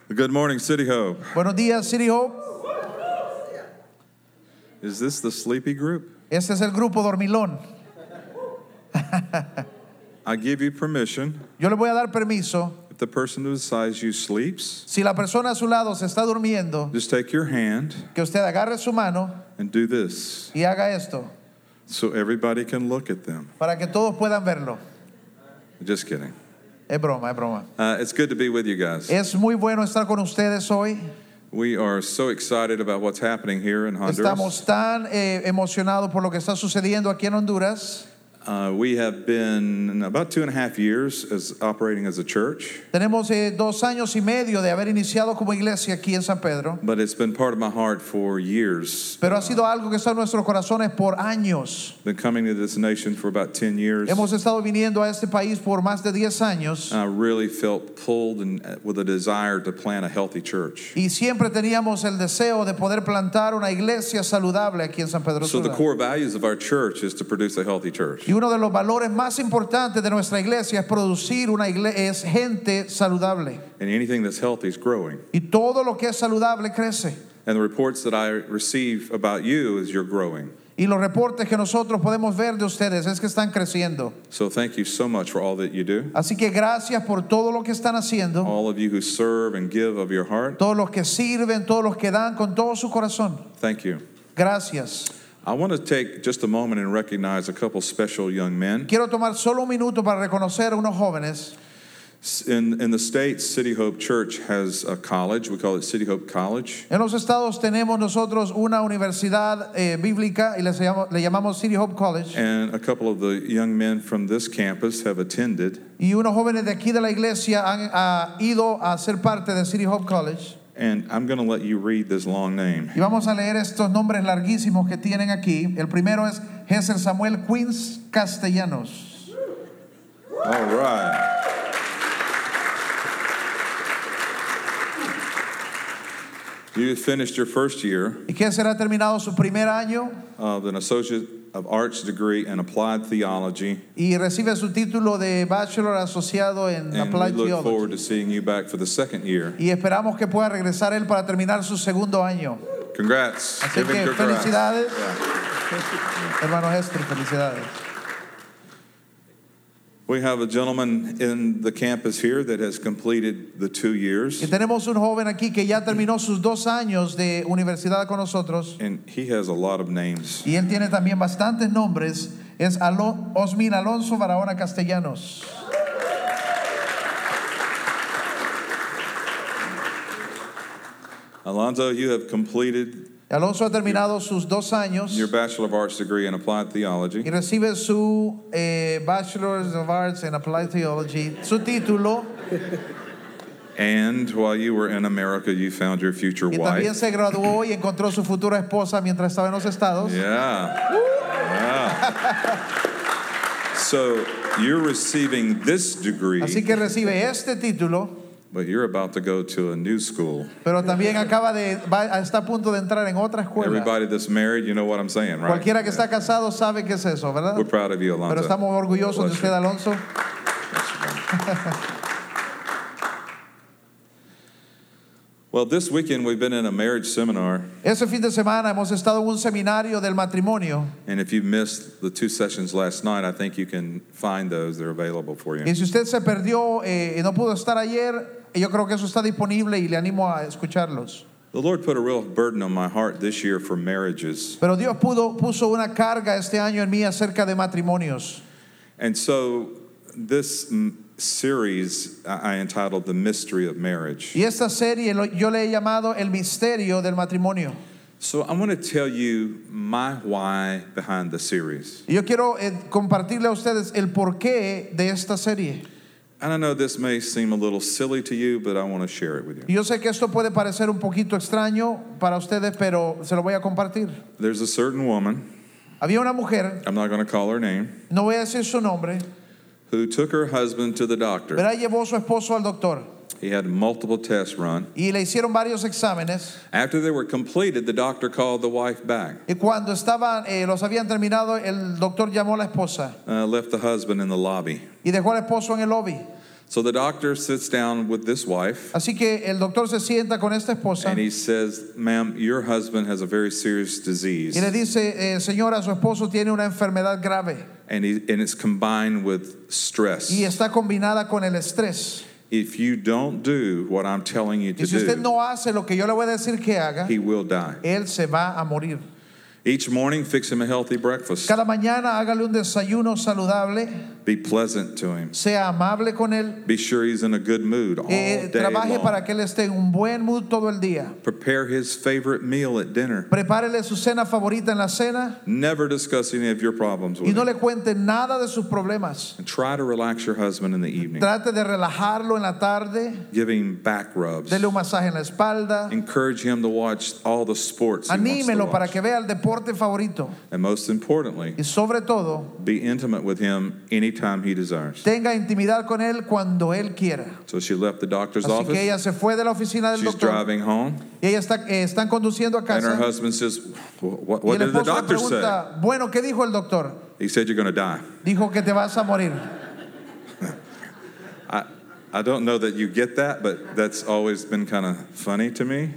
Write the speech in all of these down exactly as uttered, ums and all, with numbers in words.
Good morning, City Hope. Buenos días, City Hope. Is this the sleepy group? Este es el grupo dormilón. I give you permission. Yo le voy a dar permiso. If the person beside you sleeps, Si la persona a su lado se está durmiendo, just take your hand que usted agarre su mano and do this y haga esto so everybody can look at them. para que todos puedan verlo. Just kidding. Es broma, es broma. Uh, it's good to be with you guys. Es muy bueno estar con ustedes hoy. We are so excited about what's happening here in Honduras. Estamos tan eh, emocionados por lo que está sucediendo aquí en Honduras. Uh, we have been about two and a half years as operating as a church. Tenemos eh, dos años y medio de haber iniciado como iglesia aquí en San Pedro. But it's been part of my heart for years. Pero ha sido algo que está en nuestros corazones por años. Been coming to this nation for about ten years. Hemos estado viniendo a este país por más de diez años. I really felt pulled and with a desire to plant a healthy church. Y siempre teníamos el deseo de poder plantar una iglesia saludable aquí en San Pedro So the Sula. core values of our church is to produce a healthy church. Y uno de los valores más importantes de nuestra iglesia es producir una iglesia, es gente saludable. And anything that's healthy is growing. Y todo lo que es saludable crece. And the reports that I receive about you is you're growing. Y los reportes que nosotros podemos ver de ustedes es que están creciendo. So thank you so much for all that you do. Así que gracias por todo lo que están haciendo. All of you who serve and give of your heart. Todos los que sirven, todos los que dan con todo su corazón. Thank you. Gracias. I want to take just a moment and recognize a couple special young men. Quiero tomar solo un minuto para reconocer a unos jóvenes. In, in the States, City Hope Church has a college. We call it City Hope College. En los estados tenemos nosotros una universidad eh, bíblica y le llamamos, le llamamos City Hope College. And a couple of the young men from this campus have attended. Y unos jóvenes de aquí de la iglesia han ha ido a ser parte de City Hope College. And I'm going to let you read this long name. Y vamos a leer estos nombres larguísimos que tienen aquí. El primero es Jesús Samuel Queens Castellanos. All right. You finished your first year Y Jesús ha terminado su primer año of an Associate of Arts degree in Applied Theology. y recibe su título de Bachelor asociado en And we Applied look forward Theology. to seeing you back for the second year. Y esperamos que pueda regresar él para terminar su segundo año. Congrats. Así Give him que congrats. felicidades, Yeah. hermano Hester, felicidades. We have a gentleman in the campus here that has completed the two years. Y tenemos un joven aquí que ya terminó sus dos años de universidad con nosotros. And he has a lot of names. Y él tiene también bastantes nombres. Es Alo- Osmin Alonso Barahona Castellanos. Alonzo, you have completed Alonso ha terminado sus dos años your Bachelor of Arts degree in Applied y Theology. recibe su eh, Bachelor of Arts in Applied Theology, su título. And while you were in America, you found your future Y también wife. se graduó y encontró su futura esposa mientras estaba en los estados. Yeah. Yeah. So you're receiving this degree, Así que recibe este título, but you're about to go to a new school. pero también acaba de va, está a punto de entrar en otra escuela. Everybody that's married, you know what I'm saying, right? Cualquiera que está casado sabe qué es eso, ¿verdad? We're proud of you, Pero Alonzo. estamos orgullosos de Bless usted, you. Alonso. Well, this weekend we've been in a marriage seminar, Ese fin de semana hemos estado en un seminario del matrimonio. and if you missed the two sessions last night, I think you can find those. They're available for you. Y si usted se perdió eh, y no pudo estar ayer, yo creo que eso está disponible y le animo a escucharlos. The Lord put a real burden on my heart this year for marriages. Pero Dios pudo, puso una carga este año en mí acerca de matrimonios. And so this mm, series I I entitled The Mystery of Marriage. Y esta serie lo- yo le he llamado El Misterio del Matrimonio. So I want to tell you my why behind the series. Y yo quiero eh, compartirle a ustedes el porqué de esta serie. And I know this may seem a little silly to you, but I want to share it with you. Y yo sé que esto puede parecer un poquito extraño para ustedes, pero se lo voy a compartir. There's a certain woman, Había una mujer, I'm not going to call her name, no voy a decir su nombre, who took her husband to the doctor. pero ella llevó a su esposo al doctor He had multiple tests run. y le hicieron varios exámenes. After they were completed, the doctor called the wife back, Y cuando estaban, eh, los habían terminado, el doctor llamó a la esposa uh, left the husband in the lobby. y dejó al esposo en el lobby. So the doctor sits down with this wife Así que el doctor se sienta con esta esposa and he says, ma'am, your husband has a very serious disease. y le dice, eh, señora, su esposo tiene una enfermedad grave And, he, and it's combined with stress. y está combinada con el estrés. If you don't do what I'm telling you Y to si usted do, no hace lo que yo le voy a decir que haga, he will die. él se va a morir. Each morning, fix him a healthy breakfast. Cada mañana hágale un desayuno saludable, Be pleasant to him. sea amable con él, Be sure he's in a good mood all eh, day trabaje long. para que él esté en un buen mood todo el día. Prepare his favorite meal at dinner. Prepárele su cena favorita en la cena Never discuss any of your problems y with no him. le cuente nada de sus problemas. And try to relax your husband in the evening. Trate de relajarlo en la tarde, Give him back rubs. dele un masaje en la espalda, Encourage him to watch all the sports he wants to anímelo para watch. que vea el deporte favorito And most importantly, y sobre todo be intimate with him anytime he desires. tenga intimidad con él cuando él quiera. So she left the doctor's Así que office. ella se fue de la oficina del She's doctor driving home. y ella está, eh, están conduciendo a And her casa husband says, what, y what el did the esposo le doctor say? pregunta, bueno, ¿qué dijo el doctor? He said, you're going to die. Dijo que te vas a morir. I, I don't know that you get that, but that's always been kind of funny to me.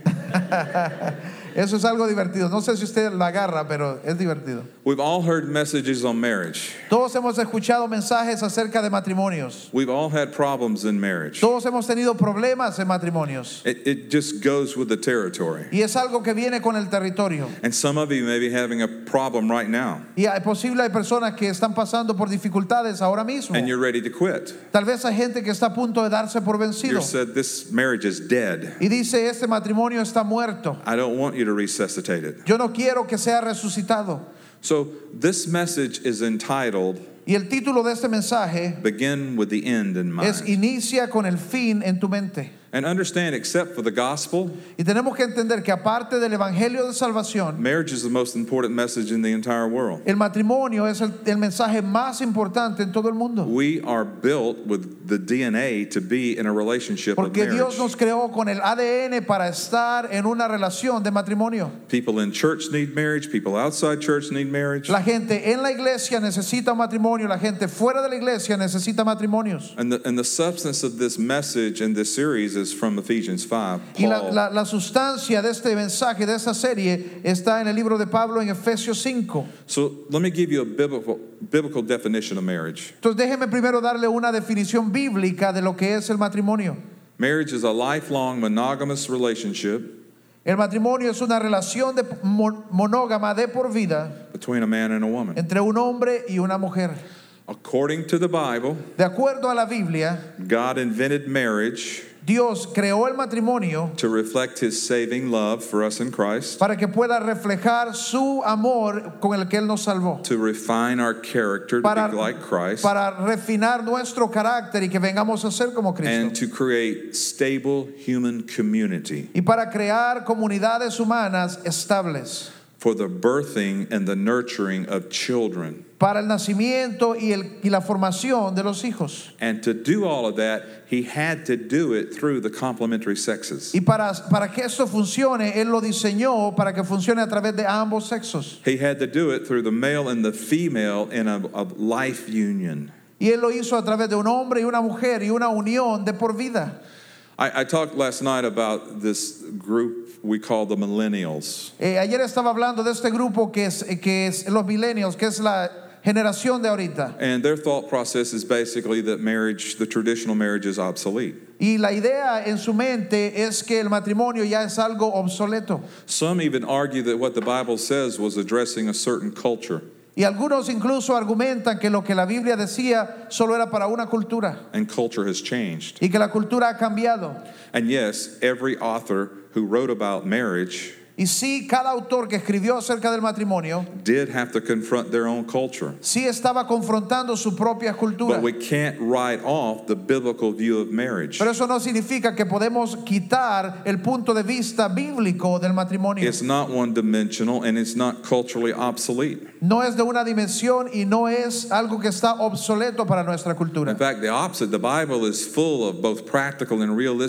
Eso es algo divertido. No sé si usted la agarra, pero es divertido. We've all heard messages on marriage. Todos hemos escuchado mensajes acerca de matrimonios. We've all had problems in marriage. Todos hemos tenido problemas en matrimonios. It, it just goes with the territory. Y es algo que viene con el territorio. And some of you may be having a problem right now, Y es posible hay personas que están pasando por dificultades ahora mismo. and you're ready to quit. Tal vez hay gente que está a punto de darse por You vencido. said, this marriage is dead. Y dice, este matrimonio está muerto. I don't want you to resuscitate it. Yo no quiero que sea resucitado. So this message is entitled, Y el título de este mensaje Begin with the End in es Mind. Inicia con el fin en tu mente. And understand, except for the gospel, Y tenemos que entender que aparte del evangelio de salvación, marriage is the most important message in the entire world. el matrimonio es el, el mensaje más importante en todo el mundo. We are built with the D N A to be in a relationship of Porque Dios marriage. nos creó con el A D N para estar en una relación de matrimonio. People in church need marriage. People outside church need marriage. La gente en la iglesia necesita un matrimonio, la gente fuera de la iglesia necesita matrimonios. And the, and the substance of this message in this series is from Ephesians five. Y la, Paul, la, la sustancia de este mensaje, de esta serie, está en el libro de Pablo en Efesios cinco. so let me give you a biblical, biblical definition of marriage. Entonces déjeme primero darle una definición bíblica de lo que es el matrimonio. Marriage is a lifelong monogamous relationship El matrimonio es una relación de mon- monógama de por vida between a man and a woman. entre un hombre y una mujer. According to the Bible, De acuerdo a la Biblia, God invented marriage Dios creó el matrimonio to reflect his saving love for us in Christ, para que pueda reflejar su amor con el que Él nos salvó, to refine our character to para, be like Christ, para refinar nuestro carácter y que vengamos a ser como and Cristo, to create stable human community y para crear comunidades humanas estables, for the birthing and the nurturing of children. para el nacimiento y, el, y la formación de los hijos. And to do all of that, he had to do it through the complementary sexes. Y para, para que esto funcione, Él lo diseñó para que funcione a través de ambos sexos. He had to do it through the male and the female in a, a life union. Y Él lo hizo a través de un hombre y una mujer y una unión de por vida. I, I talked last night about this group we call the millennials. Eh, ayer estaba hablando de este grupo que es, que es los millennials, que es la generación de ahorita. And their thought process is basically that marriage, the traditional marriage, is obsolete. Y la idea en su mente es que el matrimonio ya es algo obsoleto. Some even argue that what the Bible says was addressing a certain culture. Y algunos incluso argumentan que lo que la Biblia decía solo era para una cultura And culture has changed. y que la cultura ha cambiado. And yes, every author who wrote about marriage Y sí, cada autor que escribió acerca del matrimonio did have to confront their own culture. sí estaba confrontando su propia cultura. But we can't write off the biblical view of marriage. Pero eso no significa que podemos quitar el punto de vista bíblico del matrimonio. It's not one-dimensional and it's not culturally obsolete. No es de una dimensión y no es algo que está obsoleto para nuestra cultura. In fact, the opposite. The Bible is full of both practical and realistic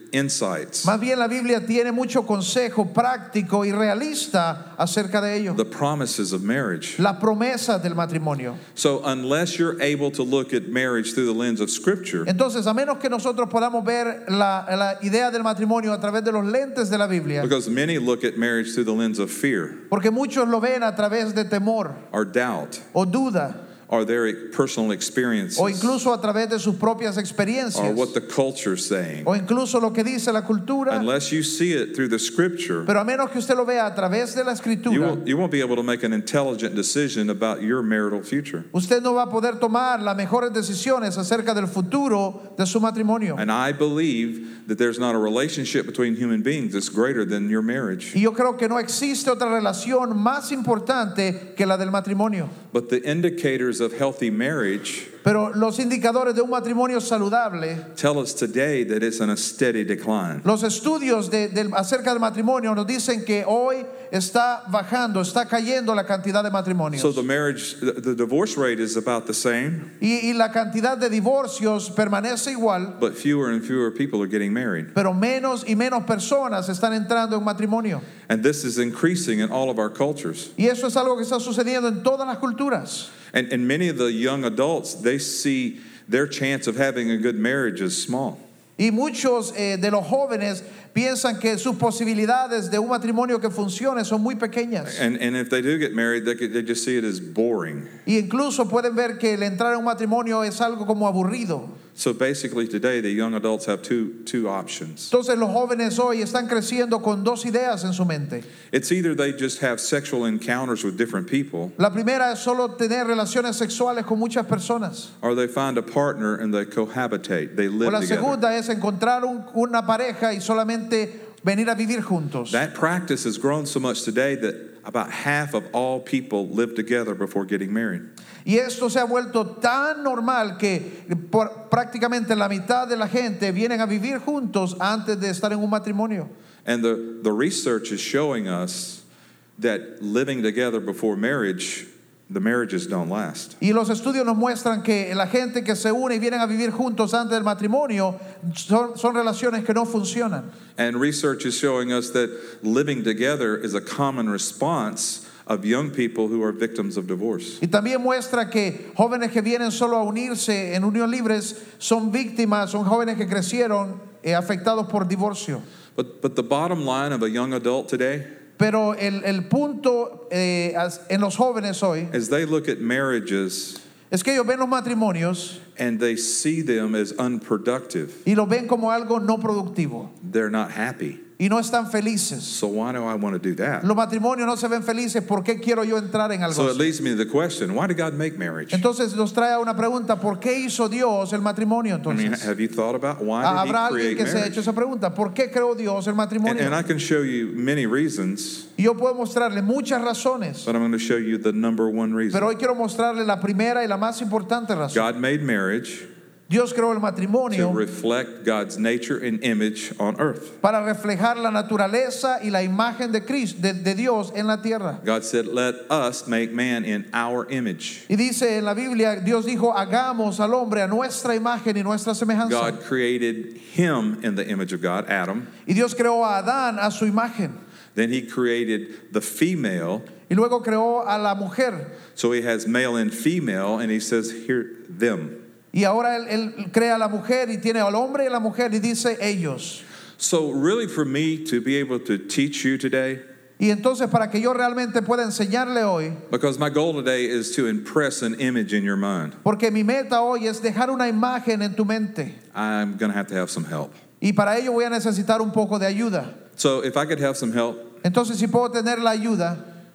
insights. Más bien la Biblia tiene mucho consejo práctico y realista acerca de ello. The promises of marriage. La promesa del matrimonio. So unless you're able to look at marriage through the lens of Scripture, Entonces, a menos que nosotros podamos ver la, la idea del matrimonio a través de los lentes de la Biblia, because many look at marriage through the lens of fear porque muchos lo ven a través de temor or doubt o duda, or their personal experiences o incluso a través de sus propias or experiencias, what the culture's saying. o incluso lo que dice la cultura. Unless you see it through the Scripture, Pero a menos que usted lo vea a través de la you escritura, won't, you won't be able to make an intelligent decision about your marital future. usted no va a poder tomar las mejores decisiones acerca del futuro de su matrimonio. And I believe that there's not a relationship between human beings that's greater than your marriage. Y yo creo que no existe otra relación más importante que la del matrimonio. But the indicators of healthy marriage Pero los indicadores de un matrimonio saludable, tell us today that it's in a steady decline. los estudios de, del- acerca del matrimonio nos dicen que hoy está bajando, está cayendo la cantidad de matrimonios. So the marriage, the, the divorce rate is about the same, Y, y la cantidad de divorcios permanece igual, but fewer and fewer people are getting married. pero menos y menos personas están entrando en matrimonio. And this is increasing in all of our cultures. Y eso es algo que está sucediendo en todas las culturas. And, and many of the young adults, they see their chance of having a good marriage as small. Y muchos eh, de los jóvenes piensan que sus posibilidades de un matrimonio que funcione son muy pequeñas. And, and if they do get married, they, could- they just see it as boring. Y incluso pueden ver que el entrar en un matrimonio es algo como aburrido. So basically today, the young adults have two, two options. Entonces los jóvenes hoy están creciendo con dos ideas en su mente. It's either they just have sexual encounters with different people, La primera es solo tener relaciones sexuales con muchas personas. or they find a partner and they cohabitate, they O live la together. segunda es encontrar un- una pareja y solamente venir a vivir juntos. That practice has grown so much today that about half of all people live together before getting married. Y esto se ha vuelto tan normal que por, prácticamente la mitad de la gente vienen a vivir juntos antes de estar en un matrimonio. And the, the research is showing us that living together before marriage, the marriages don't last. Y los estudios nos muestran que la gente que se une y vienen a vivir juntos antes del matrimonio son, son relaciones que no funcionan. And research is showing us that living together is a common response of young people who are victims of divorce. Y también muestra que jóvenes que vienen solo a unirse en unión libres son víctimas, son jóvenes que crecieron eh, afectados por divorcio. But, but the bottom line of a young adult today, Pero el, el punto eh, as- en los jóvenes hoy as they look at marriages es que ellos ven los matrimonios and they see them as unproductive, y los ven como algo no productivo they're not happy. y no están felices. So why do I want to do that? Los matrimonios no se ven felices. ¿Por qué quiero yo entrar en algo So it así? leads me to the question, why did God make marriage? Entonces nos trae a una pregunta: ¿por qué hizo Dios el matrimonio I mean, entonces? have you thought about why Ah, did Habrá he alguien create que se ha hecho marriage? esa pregunta: ¿por qué creó Dios el And, matrimonio? and I can show you many reasons, Y yo puedo mostrarle muchas razones, but I'm going to show you the number one reason. pero hoy quiero mostrarle la primera y la más importante razón. God made marriage Dios creó el to matrimonio reflect God's nature and image on earth. para reflejar la naturaleza y la imagen de Cristo, de, de Dios en la tierra. God said, let us make man in our image. Y dice en la Biblia, Dios dijo: hagamos al hombre a nuestra imagen y nuestra semejanza. God created him in the image of God, Adam. Y Dios creó a Adán a su imagen. Then he created the female. Y luego creó a la mujer. So he has male and female, and he says, here, them. Y ahora él, él crea a la mujer y tiene al hombre y a la mujer y dice ellos. So really for me to be able to teach you today, Y entonces, para que yo realmente pueda enseñarle hoy, because my goal today is to impress an image in your mind, porque mi meta hoy es dejar una imagen en tu mente. I'm going to have to have some help. Y para ello voy a necesitar un poco de ayuda. So if I could have some help, Entonces, si puedo tener la ayuda,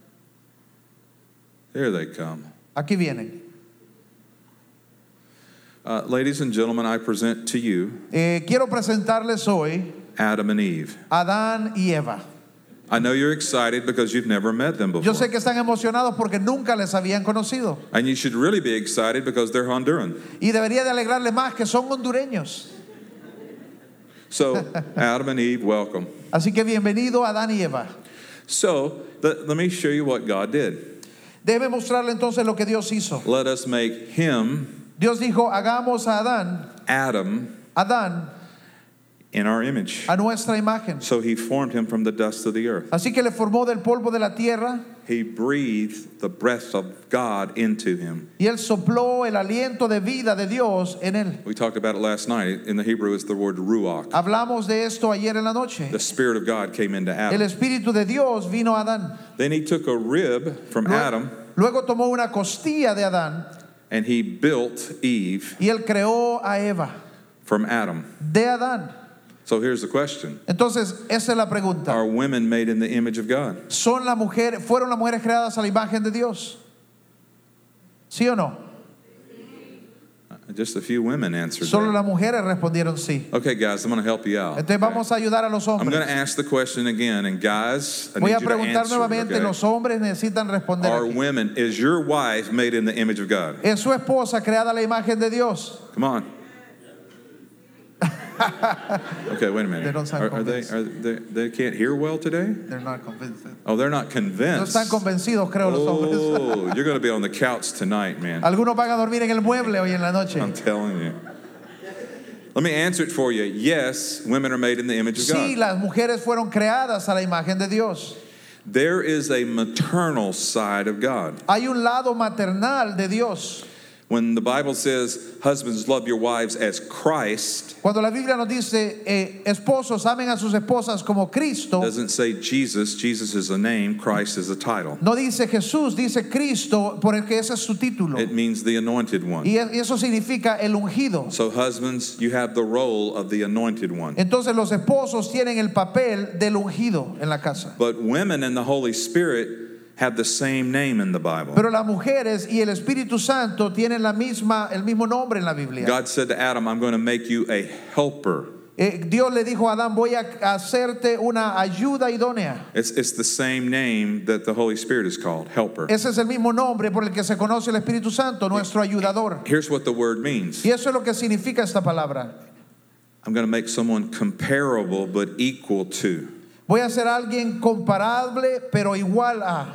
here they come. aquí vienen. Uh, ladies and gentlemen, I present to you Eh, quiero presentarles hoy Adam and Eve. Adán y Eva. I know you're excited because you've never met them Yo before. sé que están emocionados porque nunca les habían conocido. And you should really be excited because they're Honduran. Y debería de alegrarle más que son hondureños. So, Adam and Eve, welcome. Así que bienvenido Adán y Eva. So, let, let me show you what God did. Debe mostrarle entonces lo que Dios hizo. Let us make him, Dios dijo: hagamos a Adán, Adam, Adán, in our image. a nuestra imagen. So he formed him from the dust of the earth. Así que le formó del polvo de la tierra He breathed the breath of God into him. y él sopló el aliento de vida de Dios en él. We talked about it last night. In the Hebrew, it's the word ruach. Hablamos de esto ayer en la noche. The Spirit of God came into El Adam. Espíritu de Dios vino a Adán. Then he took a rib from Luego, Adam luego tomó una costilla de Adán and he built Eve y él creó a Eva from Adam. de Adán. So here's the question. Entonces, esa es la pregunta. Are women made in the image of God? ¿Son la mujer, fueron las mujeres creadas a la imagen de Dios? ¿Sí o no? Just a few women answered Solo that. las mujeres respondieron sí. Okay, guys, I'm going to help you out. Entonces vamos a ayudar a los I'm going hombres. to ask the question again, and guys, I Voy need a you to preguntar answer. nuevamente, Okay? los hombres necesitan responder Are aquí. women, is your wife made in the image of God? ¿Es su esposa creada a la imagen de Dios? Come on. Okay, wait a minute. They don't sound Are, are they? Are they? They can't hear well today? They're not convinced. Oh, they're not No convinced. están convencidos, creo, los hombres. Oh, you're going to be on the couch tonight, man. Algunos van a dormir en el mueble hoy en la noche. I'm telling you. Let me answer it for you. Yes, women are made in the image of Sí, God. las mujeres fueron creadas a la imagen de Dios. There is a maternal side of God. Hay un lado maternal de Dios. When the Bible says, husbands, love your wives as Christ, Cuando la Biblia nos dice, eh, esposos, amen a sus esposas como Cristo, doesn't say Jesus. Jesus is a name, Christ is a title. no dice Jesús, dice Cristo, porque ese es su título. It means the anointed one. Y eso significa el ungido. So, husbands, you have the role of the anointed one. Entonces los esposos tienen el papel del ungido en la casa. But women and the Holy Spirit have the same name in the Bible. Pero las mujeres y el Espíritu Santo tienen la misma, el mismo nombre en la Biblia. God said to Adam, I'm going to make you a helper. Eh, Dios le dijo a Adán, voy a hacerte una ayuda idónea. It's, it's the same name that the Holy Spirit is called, helper. Ese es el mismo nombre por el que se conoce el Espíritu Santo, nuestro ayudador. Here's what the word means. Y eso es lo que significa esta palabra. I'm going to make someone comparable but equal to. Voy a ser alguien comparable pero igual a.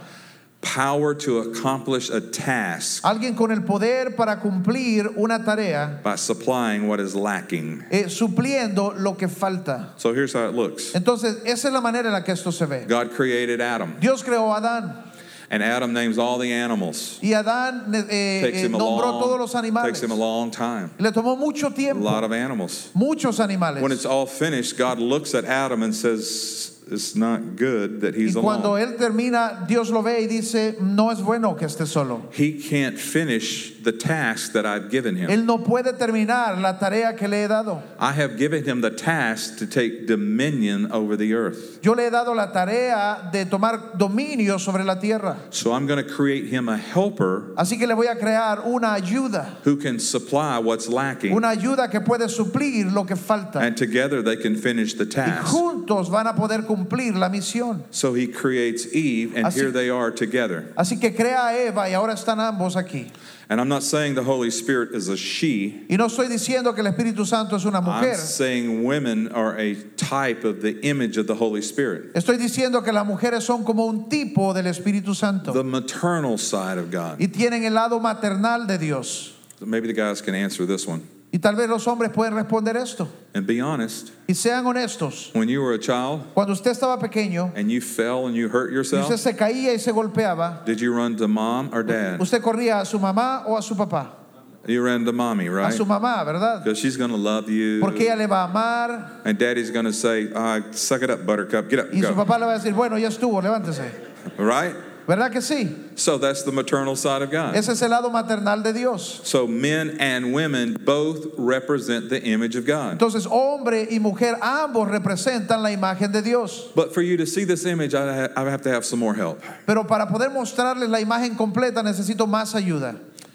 Power to accomplish a task Alguien con el poder para cumplir una tarea, by supplying what is lacking. eh, supliendo lo que falta. So here's how it looks. Entonces, esa es la manera en la que esto se ve. God created Adam, Dios creó a Adán and Adam names all the animals. y Adán eh, Takes eh, him a nombró todos los long, animales. takes him a long time. Le tomó mucho A tiempo, lot of animals. muchos When animales. it's all finished, God looks at Adam and says, it's not good that Y he's cuando alone. él termina, Dios lo ve y dice, no es bueno que esté solo. He can't finish the task that I've given him. Él no puede terminar la tarea que le he dado. I have given him the task to take dominion over the earth. Yo le he dado la tarea de tomar dominio sobre la tierra. So I'm going to create him a helper Así que le voy a crear una ayuda, who can supply what's lacking. una ayuda que puede suplir lo que falta. And together they can finish the Y task. juntos van a poder cumplir la misión. So he creates Eve, and Así- here they are together. Así que crea a Eva y ahora están ambos aquí. And I'm not saying the Holy Spirit is a she. Y no estoy diciendo que el Espíritu Santo es una I'm mujer. saying women are a type of the image of the Holy Spirit, Estoy diciendo que las mujeres son como un tipo del Espíritu Santo the maternal side of God. y tienen el lado maternal de Dios. So maybe the guys can answer this one. Y tal vez los hombres pueden responder esto. And be honest, Y sean honestos. when you were a child Cuando usted estaba pequeño and you fell and you hurt y usted yourself, se caía y se golpeaba, did you run to mom or dad? usted corría a su mamá o a su papá. You ran to mommy, A right? su mamá, ¿verdad? Because she's going to love you. Porque ella le va a amar And daddy's going to say, ah, suck it up, buttercup. Get up, y su go. papá le va a decir, bueno, ya estuvo, levántese. Right? ¿Verdad que sí? So that's the maternal side of God. Ese es el lado maternal de Dios. So men and women both represent the image of God. Entonces, hombre y mujer ambos representan la imagen de Dios. But for you to see this image, I ha- I have to have some more help. Pero para poder mostrarles la imagen completa necesito más ayuda.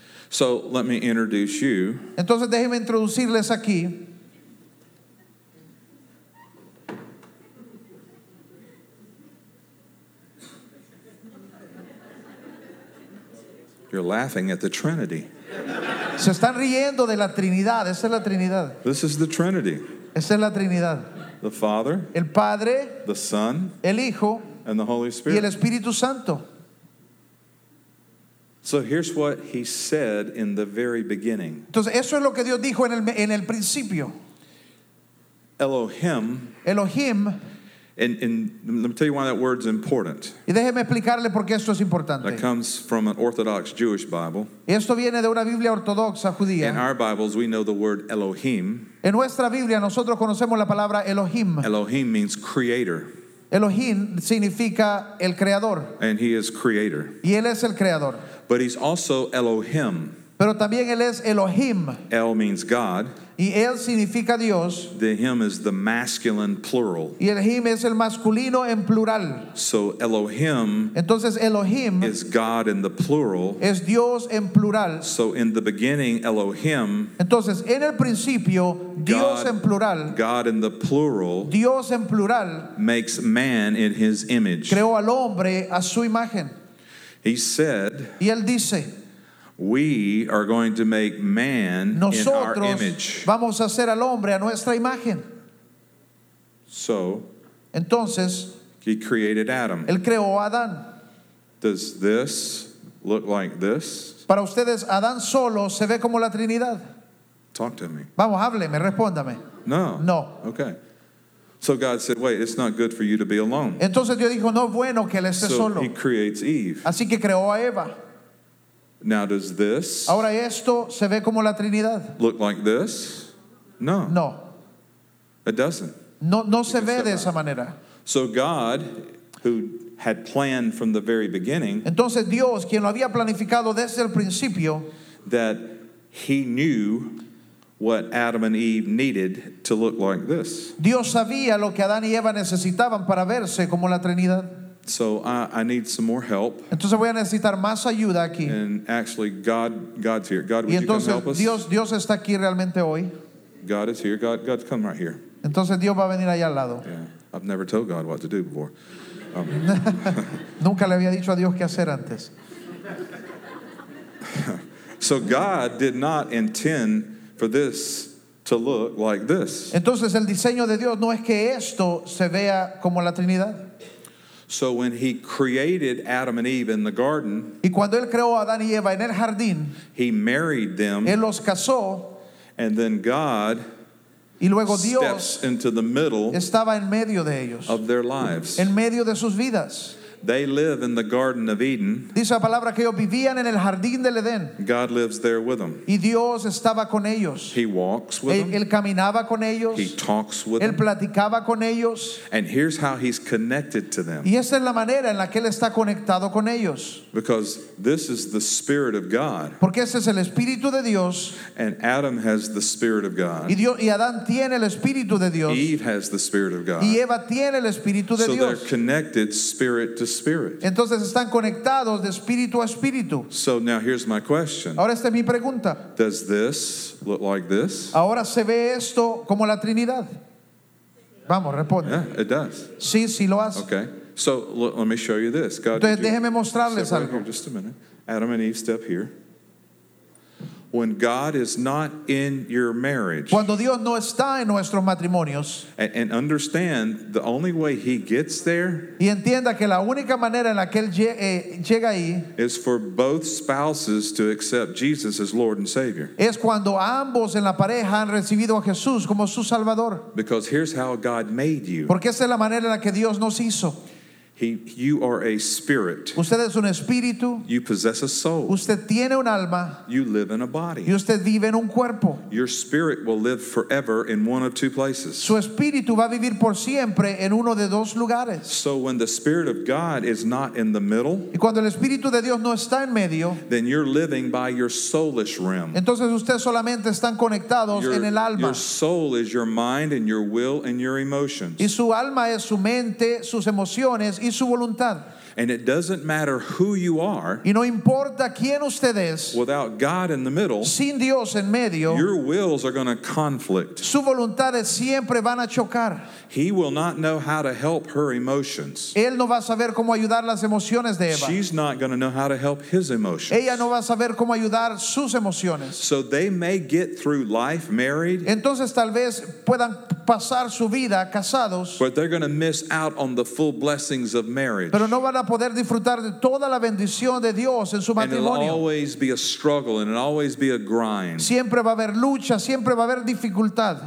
So let me introduce you. Entonces, déjenme introducirles aquí. You're laughing at the Trinity. Se están riendo de la Trinidad. Esa es la Trinidad. This is the Trinity. Esa es la Trinidad. The Father, El Padre, the Son, el Hijo and the Holy y el Spirit. Espíritu Santo. So here's what he said in the very beginning. Entonces, eso es lo que Dios dijo en el, en el principio. Elohim, Elohim, and, and let me tell you why that word's important. y déjeme explicarle por qué esto es That importante. comes from an Orthodox Jewish Bible. Esto viene de una Biblia ortodoxa In judía. our Bibles, we know the word Elohim. En nuestra Biblia nosotros conocemos la palabra Elohim. Elohim means creator, Elohim significa el creador, and he is creator. y él es el creador. But he's also Elohim. Pero también él es Elohim, El means God. y él significa Dios, The him is the masculine plural. y Elohim es el masculino en plural. So Elohim Entonces Elohim is God in the plural. es Dios en plural. So in the beginning, Elohim, Entonces en el principio, Dios God- en plural, God in the plural, Dios en plural, makes man in his image. creó al hombre a su imagen. He said, Y él dice, we are going to make man in our nosotros image. vamos a hacer al hombre a nuestra imagen. So Entonces he created Adam. él creó a Adán. Does this look like this? Para ustedes, Adán solo se ve como la Trinidad. Talk to me. Vamos, hábleme, respóndame. No. No. Okay. So God said, wait, it's not good for you to be alone. Entonces Dios dijo, no es bueno que él esté So solo. he creates Eve. Así que creó a Eva. Now, does this Ahora esto se ve como la Trinidad. look like this? No, No, it doesn't. no, no se can ve step de back. esa manera. So God, who had planned from the very beginning Entonces Dios, quien lo había planificado desde el principio, that he knew what Adam and Eve needed to look like this. Dios sabía lo que Adán y Eva necesitaban para verse como la Trinidad. So I, I need some more help. Entonces voy a necesitar más ayuda aquí. And actually, God, God's here. God, would Y you come help entonces us? Dios, Dios está aquí realmente hoy. God is here. God, God, come right here. Entonces Dios va a venir allá al lado. Yeah, I've never told God what to do before. Um, Nunca le había dicho a Dios qué hacer antes. so God did not intend for this to look like this. Entonces el diseño de Dios no es que esto se vea como la Trinidad. So when he created Adam and Eve in the garden, Y cuando él creó a Adán y Eva en el jardín, he married them, él los casó, and then God y luego steps Dios into the middle estaba en medio de ellos, of their lives. en medio de sus vidas. They live in the Garden of Eden. Dice la palabra que ellos vivían en el jardín del Edén God lives there with them. y Dios estaba con ellos. He walks with Él, them. él caminaba con ellos, He talks with él them. platicaba con ellos, And here's how he's connected to them. y esa es la manera en la que él está conectado con ellos. Because this is the Spirit of God. Porque ese es el Espíritu de Dios, And Adam has the Spirit of y, God. Dios, y Adán tiene el Espíritu de Dios, Eve has the Spirit of God. y Eva tiene el Espíritu de So they're Dios. connected spirit to spirit. Entonces están conectados de espíritu a espíritu. So now here's my question. Ahora esta es mi pregunta. Does this look like this? Ahora se ve esto como la Trinidad. Vamos, responde. Yeah, it does. Sí, sí lo hace. Okay. So look, let me show you this. God, Entonces did you- déjeme mostrarles step right algo. here just a minute. Adam and Eve step here. When God is not in your marriage, Cuando Dios no está en nuestros matrimonios, and, and understand the only way he gets there y entienda que la única manera en la que Él lle- eh, llega ahí is for both spouses to accept Jesus as Lord and Savior. es cuando ambos en la pareja han recibido a Jesús como su Salvador. Because here's how God made you. Porque esa es la manera en la que Dios nos hizo. He, you are a spirit. Usted es un espíritu, You possess a soul. usted tiene un alma You live in a y body. usted vive en un cuerpo. Your spirit will live forever in one of two places. Su espíritu va a vivir por siempre en uno de dos lugares. So when the Spirit of God is not in the middle, Y cuando el espíritu de Dios no está en medio, then you're living by your soulish realm. entonces ustedes solamente están conectados Your, en el alma. your soul is your mind and your will and your emotions. Y su alma es su mente, sus emociones y su voluntad. And it doesn't matter who you are, Y no importa quién usted es, without God in the middle, sin Dios en medio, your wills are going to conflict. sus voluntades siempre van a chocar. He will not know how to help her emotions. Él no va a saber cómo ayudar las emociones de Eva. She's not going to know how to help his emotions. Ella no va a saber cómo ayudar sus emociones. So they may get through life married, Entonces tal vez puedan pasar su vida casados, but they're going to miss out on the full blessings of marriage. pero no van a poder disfrutar de toda la bendición de Dios en su And it'll matrimonio. always be a struggle and it'll always be a grind. Siempre va a haber lucha, siempre va a haber dificultad.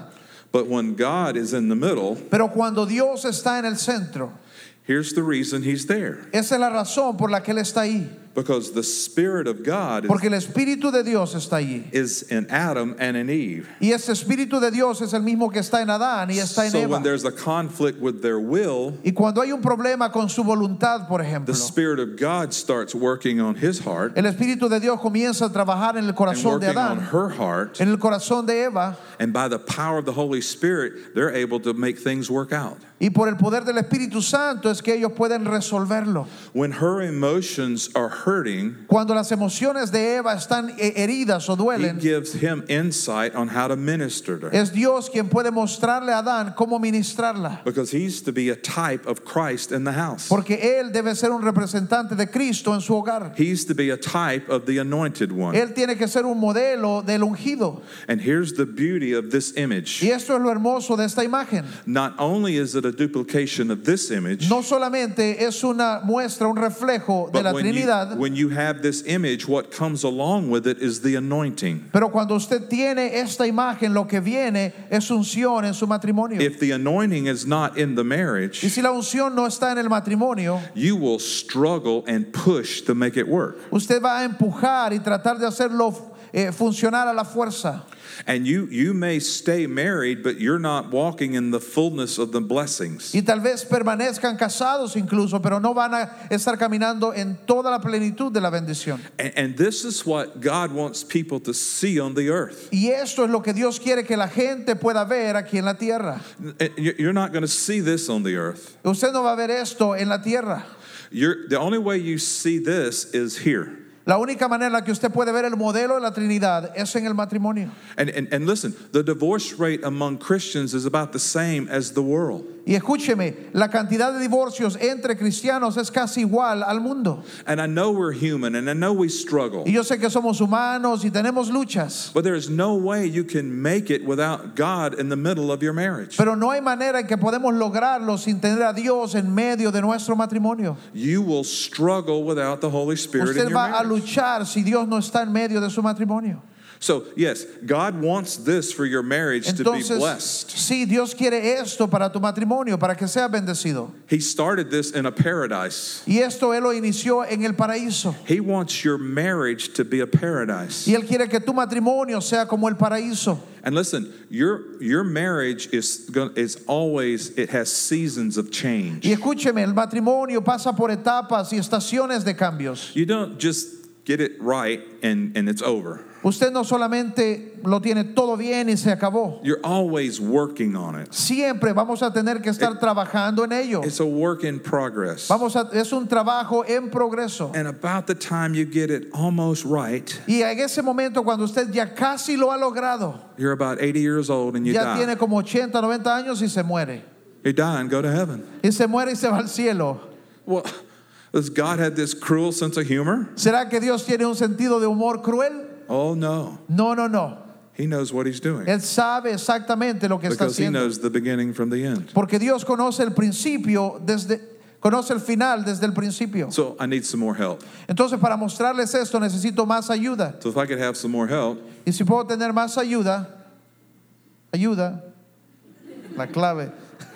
But when God is in the middle, Pero cuando Dios está en el centro, here's the reason he's there. esa es la razón por la que Él está ahí. Because the Spirit of God is, Porque el Espíritu de Dios está allí. is in Adam and in Eve. Y ese Espíritu de Dios es el mismo que está en Adán y está en So Eva. when there's a conflict with their will, Y cuando hay un problema con su voluntad, por ejemplo, the Spirit of God starts working on his heart el Espíritu de Dios comienza a trabajar en el and corazón de working on Adán, her heart. en el corazón de Eva, And by the power of the Holy Spirit, they're able to make things work out. y por el poder del Espíritu Santo es que ellos pueden resolverlo. When her emotions are hurting, Cuando las emociones de Eva están eh, heridas o he duelen, gives him insight on how to minister to her. es Dios quien puede mostrarle a Adán cómo ministrarla. Because he's to be a type of Christ in the house. Porque él debe ser un representante de Cristo en su hogar. He's to be a type of the anointed one. Él tiene que ser un modelo del ungido. And here's the beauty of this image. Y esto es lo hermoso de esta imagen. Not only is it a duplication of this image, No solamente es una muestra, un reflejo de but la when you, Trinidad, when you have this image, what comes along with it is the anointing. pero cuando usted tiene esta imagen, lo que viene es unción en su matrimonio. If the anointing is not in the Y marriage, si la unción no está en el matrimonio, you will struggle and push to make it work. usted va a empujar y tratar de hacerlo eh, funcionar a la fuerza. And you you may stay married, but you're not walking in the fullness of the blessings. Y tal vez permanezcan casados incluso, pero no van a estar caminando en toda la plenitud de la bendición. And, and this is what God wants people to see on the earth. Y esto es lo que Dios quiere que la gente pueda ver aquí en la tierra. You're not going to see this on the earth. Usted no va a ver esto en la tierra. You're, the only way you see this is here. La única manera en la que usted puede ver el modelo de la Trinidad es en el matrimonio. And, and, and listen, the divorce rate among Christians is about the same as the world. Y escúcheme, la cantidad de divorcios entre cristianos es casi igual al mundo. And I know we're human and I know we struggle. Y yo sé que somos humanos y tenemos luchas. But there is no way you can make it without God in the middle of your marriage. Pero no hay manera en que podemos lograrlo sin tener a Dios en medio de nuestro matrimonio. You will struggle without the Holy Spirit in Usted your va a marriage. luchar si Dios no está en medio de su matrimonio. So, yes, God wants this for your marriage to be Entonces, blessed. sí, Dios quiere esto para tu matrimonio, para que sea bendecido. He started this in a paradise. Y esto Él lo inició en el paraíso. He wants your marriage to be a paradise. Y Él quiere que tu matrimonio sea como el paraíso. And listen, your your marriage is going is always, it has seasons of change. Y escúcheme, el matrimonio pasa por etapas y estaciones de cambios. You don't just get it right and, and it's over. Usted no solamente lo tiene todo bien y se acabó. You're always working on it. Siempre vamos a tener que estar It- trabajando en ello. It's a work in progress. Vamos a, es un trabajo en progreso. And about the time you get it almost right, Y en ese momento cuando usted ya casi lo ha logrado, you're about eighty years old and you ya die. tiene como ochenta, noventa años y se muere. You die and go to heaven. Y se muere y se va al cielo. Well, does God have this cruel sense of humor? ¿Será que Dios tiene un sentido de humor cruel? Oh, no. No, no, no. He knows what he's doing. Él sabe exactamente lo que está Because he haciendo. knows the beginning from the end. Porque Dios conoce el principio desde conoce el final desde el principio. So I need some more help. Entonces, para mostrarles esto necesito más ayuda. So if I could have some more help, Y si puedo tener más ayuda, ayuda, la clave.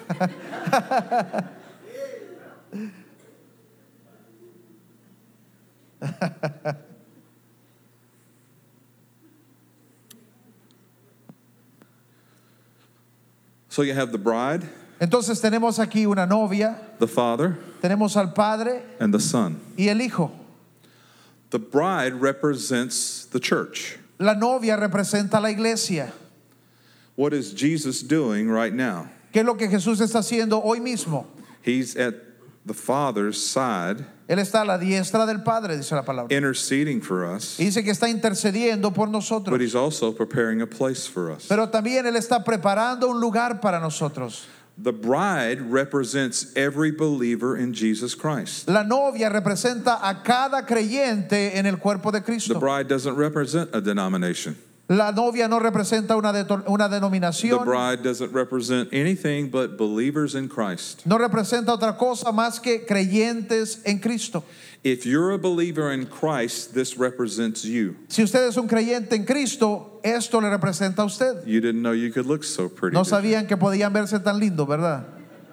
so you have the bride, Entonces tenemos aquí una novia, the father, tenemos al padre and the son. y el hijo. The bride represents the church. La novia representa la iglesia. What is Jesus doing right now? ¿Qué es lo que Jesús está haciendo hoy mismo? He's at the Father's side, Él está a la diestra del Padre, dice la palabra. interceding for us, Y dice que está intercediendo por nosotros. but he's also preparing a place for us. Pero también Él está preparando un lugar para nosotros. The bride represents every believer in Jesus Christ. La novia representa a cada creyente en el cuerpo de The Cristo. bride doesn't represent a denomination. La novia no representa una, de, una The denominación. bride doesn't represent anything but believers in Christ. No representa otra cosa más que creyentes en Cristo. If you're a believer in Christ, this represents you. Si usted es un creyente en Cristo, esto le representa a usted. You didn't know you could look so pretty. No did you? sabían que podían verse tan lindos, ¿verdad?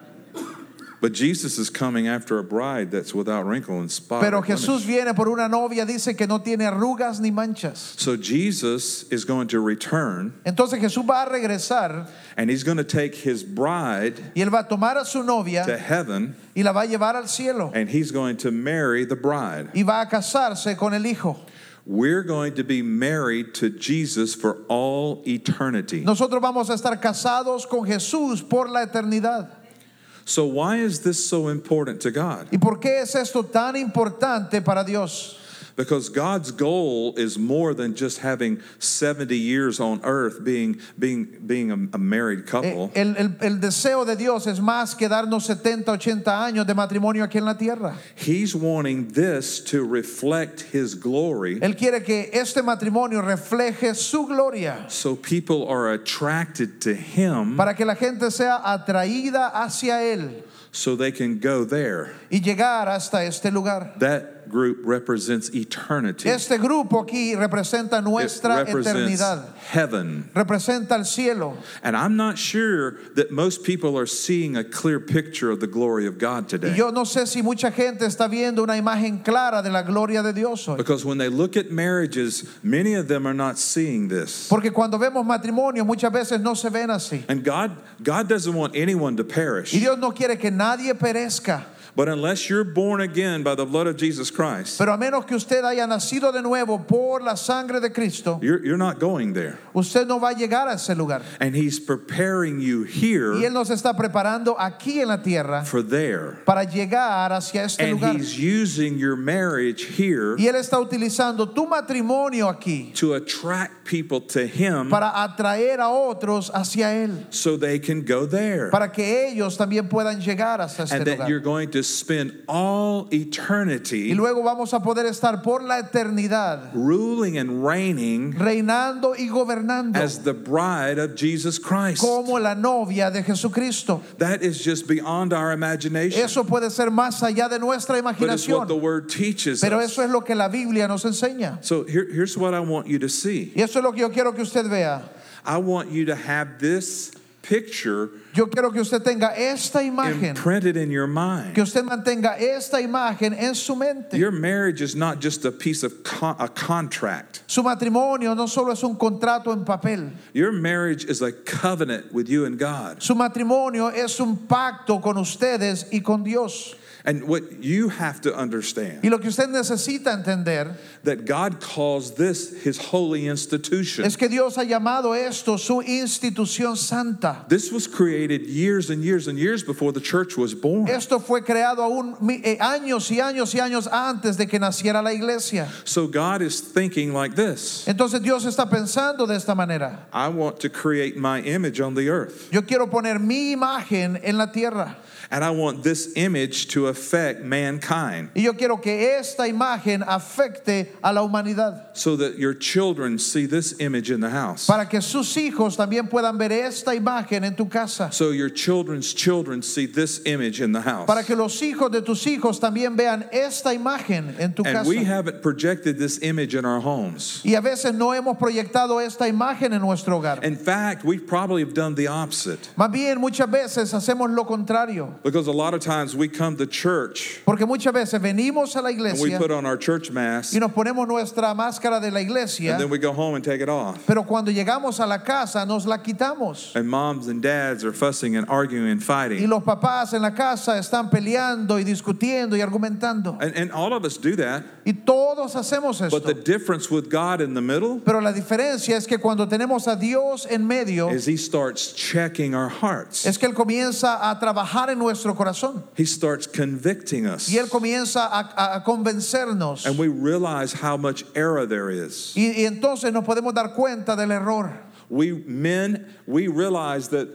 But Jesus is coming after a bride that's without wrinkle and spot. Pero or blemish. Jesús viene por una novia, dice que no tiene arrugas ni manchas. So Jesus is going to return, Entonces Jesús va a regresar and he's going to take his bride y él va a tomar a su to novia heaven, y la va a llevar al cielo and he's going to marry the bride. y va a casarse con el hijo. We're going to be married to Jesus for all eternity. Nosotros vamos a estar casados con Jesús por la eternidad. So why is this so important to God? ¿Y por qué es esto tan importante para Dios? Because God's goal is more than just having seventy years on earth being being being a, a married couple. El, el, el deseo de Dios es más que darnos setenta, ochenta años de matrimonio aquí en la tierra. He's wanting this to reflect his glory, Él quiere que este matrimonio refleje su gloria so people are attracted to him, para que la gente sea atraída hacia Él so they can go there. y llegar hasta este lugar. That group represents eternity. Este grupo aquí representa It nuestra represents eternidad, heaven. representa el cielo. And I'm not sure that most people are seeing a clear picture of the glory of God Y today. yo no sé si mucha gente está viendo una imagen clara de la gloria de Dios hoy. Because when they look at marriages, many of them are not seeing this. Porque cuando vemos matrimonio muchas veces no se ven así. And God, God doesn't want anyone to perish. Y Dios no quiere que nadie perezca. But unless you're born again by the blood of Jesus Christ, Pero a menos que usted haya nacido de nuevo por la sangre de Cristo, you're, you're not going there. usted no va a llegar a ese lugar. And He's preparing you Y here Él nos está preparando aquí en la tierra for there. para llegar hacia este And lugar. He's using your marriage here Y Él está utilizando tu matrimonio aquí to attract people to Him para atraer a otros hacia Él, so they can go there. para que ellos también puedan llegar hasta este And that you're lugar. going to spend all Y eternity luego vamos a poder estar por la eternidad ruling and reigning reinando y gobernando as the bride of Jesus Christ. como la novia de Jesucristo. That is just beyond our imagination. Eso puede ser más allá de nuestra But it's what the imaginación, Word teaches pero us. eso es lo que la Biblia nos enseña. So here, here's what I want you to see. Y eso es lo que yo quiero que usted vea. I want you to have this picture Yo quiero que usted tenga esta imagen, imprinted in your mind. que usted mantenga esta imagen en su mente. Your marriage is not just a piece of con- a contract. Su matrimonio no solo es un contrato en papel. Your marriage is a covenant with you and God. Su matrimonio es un pacto con ustedes y con Dios. And what you have to understand, Y lo que usted necesita entender that God calls this His holy institution. es que Dios ha llamado esto su institución santa. This was created years and years and years before the church was born. Esto fue creado aún mi- eh, años y años y años antes de que naciera la iglesia. So God is thinking like this. Entonces Dios está pensando de esta manera. I want to create my image on the earth. Yo quiero poner mi imagen en la tierra. And I want this image to affect mankind Y yo quiero que esta imagen afecte a la humanidad. so that your children see this image in the house. Para que sus hijos también puedan ver esta imagen en tu casa. So your children's children see this image in the house. Para que los hijos de tus hijos también vean esta imagen en tu And we casa. haven't projected this image in our homes. Y a veces no hemos proyectado esta imagen en nuestro hogar. In fact, we probably have done the opposite. Más bien muchas veces hacemos lo contrario. Because a lot of times we come to church Porque muchas veces venimos a la and we iglesia put on our church mask y nos ponemos nuestra máscara de la iglesia, and then we go home and take it off. pero cuando llegamos a la casa nos la quitamos. And moms and dads are fussing and arguing and Y fighting. los papás en la casa están peleando y discutiendo y argumentando. And, and all of us do that. Y todos hacemos But the esto. difference with God in the middle Pero la diferencia es que cuando tenemos a Dios en medio, is He starts checking our hearts. es que Él comienza a trabajar en nuestro corazón. He starts convicting us. Y Él comienza a, a convencernos. And we realize how much error there is. Y, y entonces nos podemos dar cuenta del error. We men, we realize that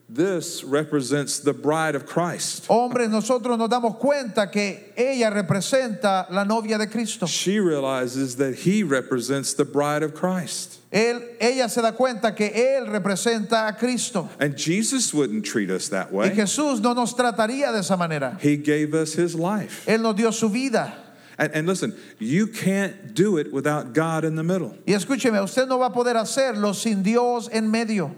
this represents the bride of Christ. Hombres, nosotros nos damos cuenta que ella representa la novia de Cristo. She realizes that he represents the bride of Christ. Él, ella se da cuenta que él representa a Cristo. And Jesus wouldn't treat us that Y way. Jesús no nos trataría de esa manera. He gave us his life. Él nos dio su vida. And, and listen, you can't do it without God in the middle. Y escúcheme, usted no va a poder hacerlo sin Dios en medio.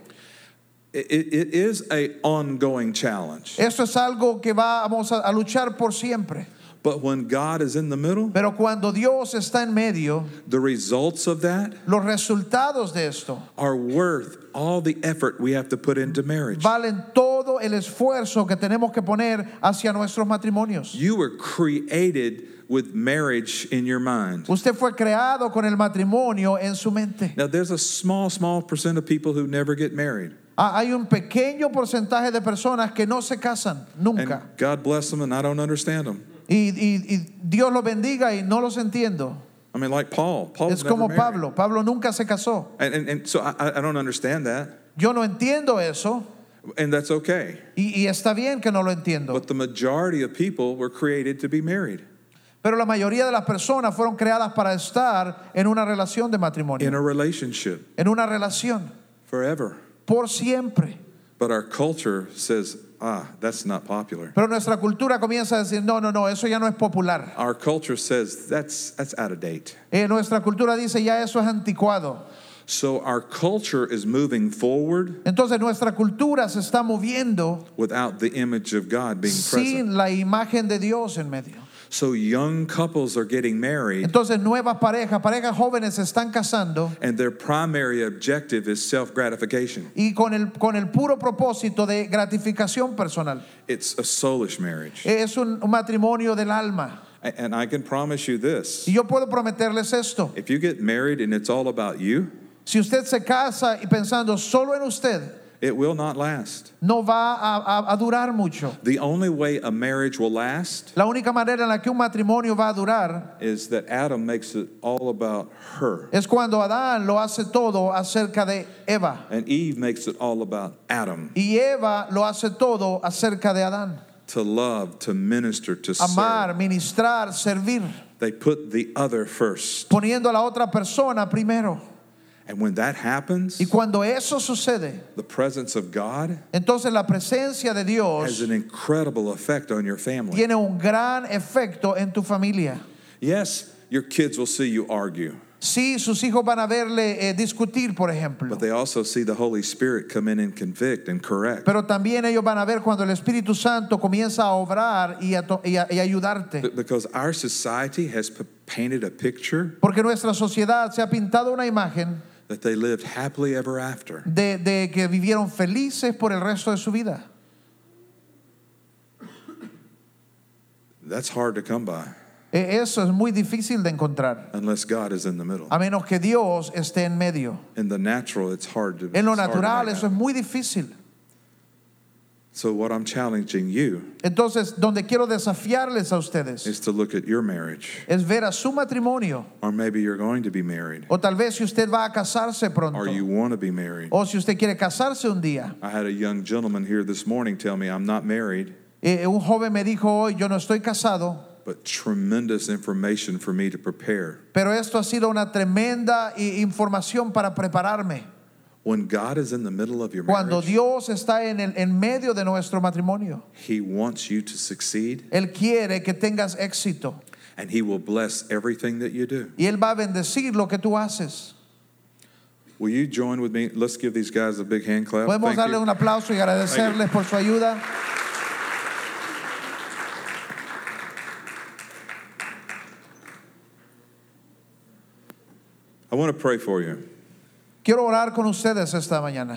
It, it, it is an ongoing challenge. Eso es algo que vamos a, a luchar por siempre. But when God is in the middle, Pero cuando Dios está en medio, the results of that los resultados de esto are worth all the effort we have to put into marriage. valen todo el esfuerzo que tenemos que poner hacia nuestros matrimonios. You were created with marriage in your mind. Usted fue creado con el matrimonio en su mente. Now, there's a small, small percent of people who never get married. Ah, Hay un pequeño porcentaje de personas que no se casan nunca. And God bless them, and I don't understand them. Y, y, y Dios los bendiga y no los entiendo. I mean, like Paul. Paul Es was como never married. Pablo. Pablo nunca se casó. And, and, and so I, I don't understand that. Yo no entiendo eso. And that's okay. Y, y está bien que no lo entiendo. But the majority of people were created to be married Pero la mayoría de las personas fueron creadas para estar en una relación de in matrimonio. a relationship En una relación. forever. Por siempre. But our culture says, ah, that's not popular. Pero nuestra cultura comienza a decir, no, no, no, eso ya no es popular. Our culture says that's that's out of date. Eh, nuestra cultura dice, ya eso es anticuado. So our culture is moving forward Entonces nuestra cultura se está moviendo without the image of God being present. sin la imagen de Dios en medio. So young couples are getting married, Entonces nuevas parejas, parejas jóvenes se están casando and their primary objective is self-gratification. y con el, con el puro propósito de gratificación personal. It's a soulish marriage. Es un, un matrimonio del alma. A- And I can promise you this. Y yo puedo prometerles esto. If you get married and it's all about you, Si usted se casa y pensando solo en usted, it will not last. no va a, a, a durar mucho. The only way a marriage will last La única manera en la que un matrimonio va a durar is that Adam makes it all about her, es cuando Adán lo hace todo acerca de Eva and Eve makes it all about Adam. y Eva lo hace todo acerca de Adán. To love, to minister, to Amar, serve. ministrar, servir, They put the other first. poniendo a la otra persona primero. And when that happens, Y cuando eso sucede, the presence of God entonces la presencia de has Dios an incredible effect on your family. tiene un gran efecto en tu familia. Yes, your kids will see you argue, Sí, sus hijos van a verle eh, discutir, por ejemplo. but they also see the Holy Spirit come in and convict and correct. Pero también ellos van a ver cuando el Espíritu Santo comienza a obrar y a, to- y a- y a ayudarte. B- Because our society has p- painted a picture Porque nuestra sociedad se ha pintado una imagen that they lived happily ever after. de, de que vivieron felices por el resto de su vida. That's hard to come by E- Eso es muy difícil de encontrar, unless God is in the middle. a menos que Dios esté en medio. In the natural, it's hard to. En lo it's hard to natural make eso es happen. muy difícil. So what I'm challenging you Entonces, donde quiero desafiarles a ustedes is to look at your marriage, es ver a su matrimonio, or maybe you're going to be married, o tal vez si usted va a casarse pronto, or you want to be married. o si usted quiere casarse un día. I had a young gentleman here this morning tell me I'm not married, Eh, un joven me dijo hoy, yo no estoy casado, but tremendous information for me to prepare. pero esto ha sido una tremenda i- información para prepararme. When God is in the middle of your Cuando marriage, Dios está en, el, en medio de nuestro matrimonio, He wants you to succeed, Él quiere que tengas éxito and He will bless everything that you do. y Él va a bendecir lo que tú haces. Will you join with me? Let's give these guys a big hand clap. Podemos Thank darle you. un aplauso y agradecerles por su ayuda. I want to pray for you. Quiero orar con ustedes esta mañana.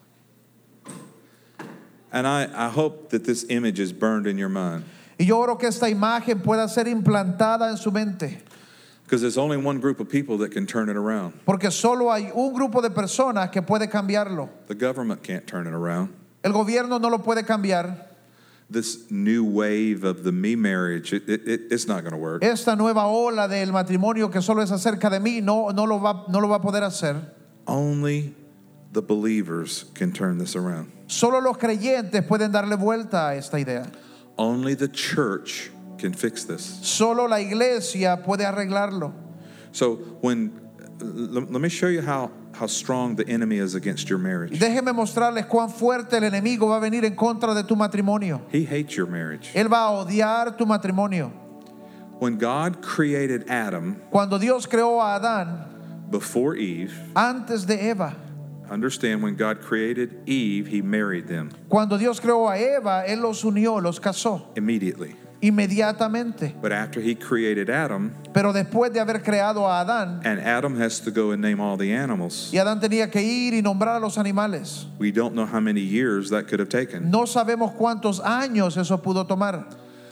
And I, I hope that this image is burned in your mind, Y yo oro que esta imagen pueda ser implantada en su mente. because there's only one group of people that can turn it around. Porque solo hay un grupo de personas que puede cambiarlo. The government can't turn it around. El gobierno no lo puede cambiar. This new wave of the me marriage, it, it, it- it's not going to work. Esta nueva ola del matrimonio que solo es acerca de mí no, no, lo va, no lo va a poder hacer. Only the believers can turn this around. Solo los creyentes pueden darle vuelta a esta idea. Only the church can fix this. Solo la iglesia puede arreglarlo. So when let me show you how how strong the enemy is against your marriage. Déjeme mostrarles cuán fuerte el enemigo va a venir en contra de tu matrimonio. He hates your marriage. Él va a odiar tu matrimonio. When God created Adam, Cuando Dios creó a Adán before Eve, antes de Eva, understand when God created Eve, he married them cuando Dios creó a Eva, Él los unió, los casó immediately. inmediatamente. But after he created Adam, Pero después de haber creado a Adán, and Adam has to go and name all the animals, y Adán tenía que ir y nombrar a los animales, we don't know how many years that could have taken. no sabemos cuántos años eso pudo tomar.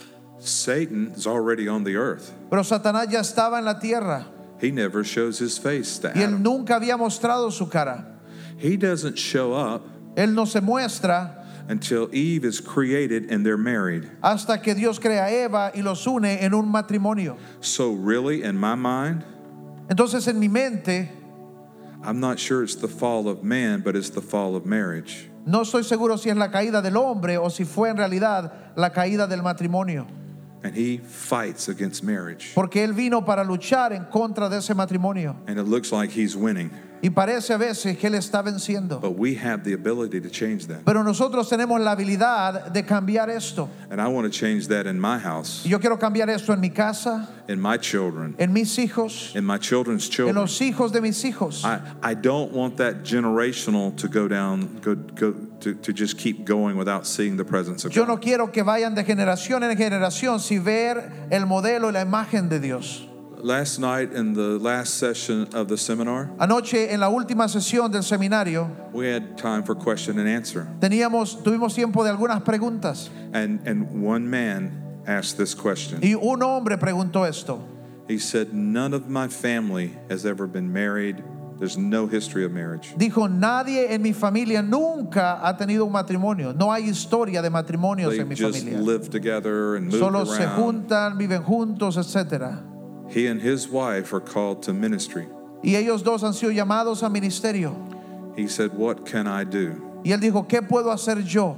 Satan is already on the earth. Pero Satanás ya estaba en la tierra He never shows his face to y él Adam. nunca había mostrado su cara. He doesn't show up Él no se muestra until Eve is created and they're married. hasta que Dios crea a Eva y los une en un matrimonio. So really, in my mind, Entonces en mi mente I'm not sure it's the fall of man, but it's the fall of marriage. no estoy seguro si es la caída del hombre o si fue en realidad la caída del matrimonio. And he fights against marriage. Porque él vino para luchar en contra de ese matrimonio. And it looks like he's winning. Y parece a veces que él está venciendo. But we have the ability to change that. Pero nosotros tenemos la habilidad de cambiar esto. And I want to change that in my house, Y yo quiero cambiar esto en mi casa, in my children, en mis hijos, in my children's en children. los hijos de mis hijos. I, I don't want that generational to go down, go, go to, to just keep going without seeing the presence of Yo God. no quiero que vayan de generación en generación sin ver el modelo y la imagen de Dios. Last night in the last session of the seminar, Anoche en la última sesión del seminario we had time for question and answer. teníamos, tuvimos tiempo de algunas preguntas And, and one man asked this question. y un hombre preguntó esto. He said, none of my family has ever been married. There's no history of marriage. Dijo, nadie en mi familia nunca ha tenido un matrimonio. No hay historia de matrimonios They en mi just familia. lived together and moved Solo se around. juntan, viven juntos, etcétera. He and his wife are called to ministry. Y ellos dos han sido llamados a ministerio. He said, what can I do? Y él dijo, ¿qué puedo hacer yo?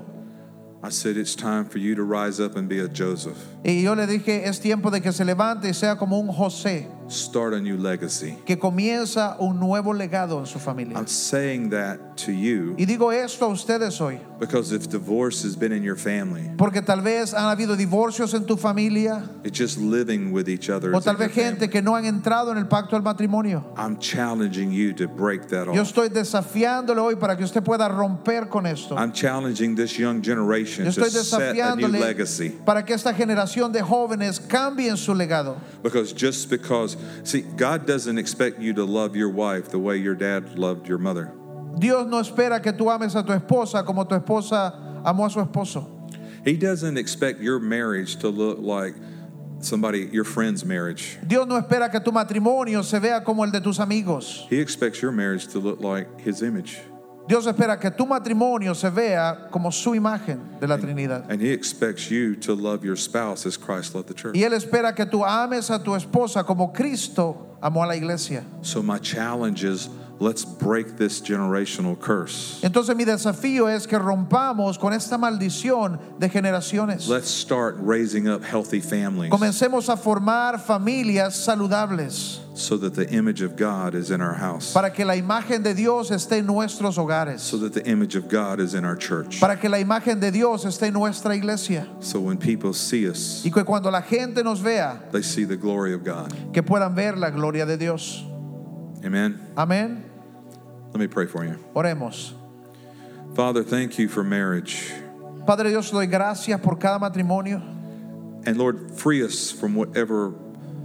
I said, it's time for you to rise up and be a Joseph. Y yo le dije, es tiempo de que se levante y sea como un José, Start a new legacy. que comienza un nuevo legado en su familia. I'm saying that to you Y digo esto a ustedes hoy, because if divorce has been in your family, porque tal vez han habido divorcios en tu familia, it's just living with each other. o as in tal vez your gente family. que no han entrado en el pacto del matrimonio. I'm challenging you to break that Yo off. estoy desafiándole hoy para que usted pueda romper con esto. I'm challenging this young generation Yo to estoy set a new desafiándole legacy. para que esta generación de jóvenes cambien su legado. Because just because, see, God doesn't expect you to love your wife the way your dad loved your mother. Dios no espera que tú ames a tu esposa como tu esposa amó a su esposo. He doesn't expect your marriage to look like somebody, your friend's marriage. Dios no espera que tu matrimonio se vea como el de tus amigos. He expects your marriage to look like his image. Dios espera que tu matrimonio se vea como su imagen de la Trinidad. And he expects you to love your spouse as Christ loved the church. Y Él espera que tú ames a tu esposa como Cristo amó a la iglesia. So my challenge is, let's break this generational curse. Entonces mi desafío es que rompamos con esta maldición de generaciones. Let's start raising up healthy families Comencemos a formar familias saludables so that the image of God is in our house, para que la imagen de Dios esté en nuestros hogares, so that the image of God is in our church. para que la imagen de Dios esté en nuestra iglesia So when people see us, y que cuando la gente nos vea, they see the glory of God. que puedan ver la gloria de Dios. Amen. Amén. Let me pray for you. Oremos. Father, thank you for marriage. Padre Dios, te doy gracias por cada matrimonio. And Lord, free us from whatever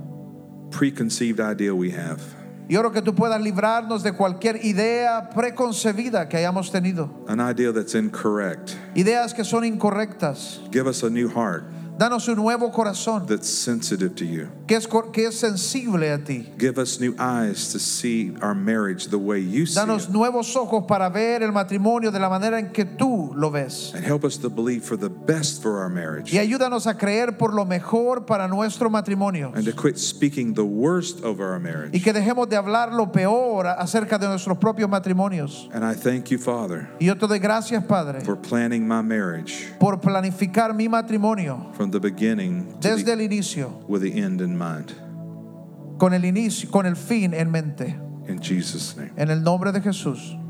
preconceived idea we have. Y oro que tú puedas librarnos de cualquier idea preconcebida que hayamos tenido. An idea that's incorrect. Ideas que son incorrectas. Give us a new heart. Danos un nuevo corazón that's sensitive to you. que es, cor- que es sensible a ti. Give us new eyes to see our marriage the way you see Danos it. nuevos ojos para ver el matrimonio de la manera en que tú lo ves. And help us to believe for the best for our marriage. Y ayúdanos a creer por lo mejor para nuestro matrimonio. And to quit speaking the worst over our marriage. Y que dejemos de hablar lo peor acerca de nuestros propios matrimonios. And I thank you, Father, Y yo te doy gracias, Padre, for planning my marriage por planificar mi matrimonio from the beginning to desde the, el inicio, with the end in mind. con el inicio, con el fin en mente. In Jesus' name. En el nombre de Jesús.